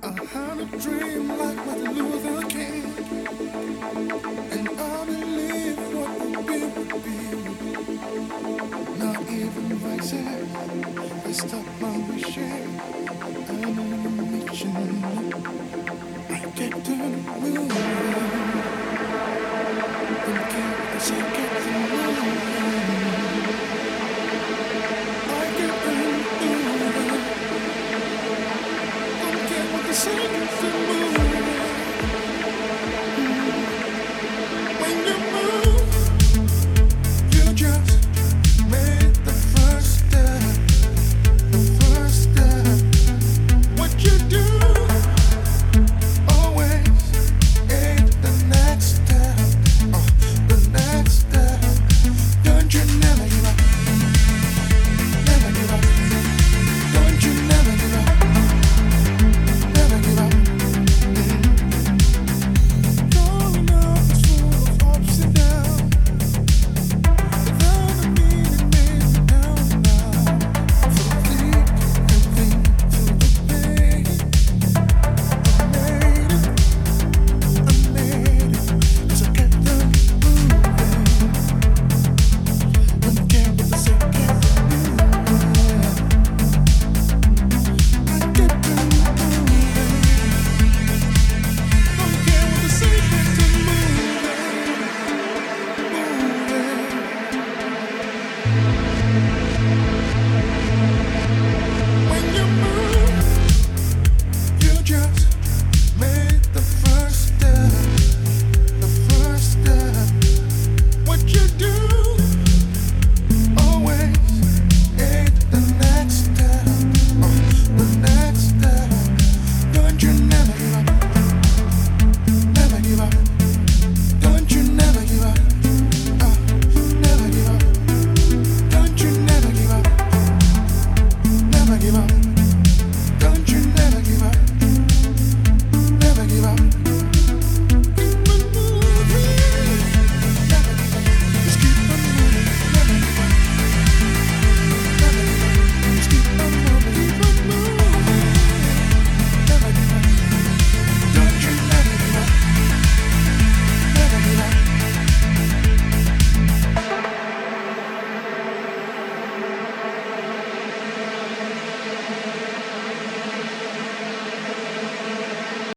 I had a dream like Martin Luther King, and I believe what would be would be. Not even voices that stop my wishing. I'm on a mission. I get to moving, don't care as I get to moving. I get to moving, don't care what the seconds to move.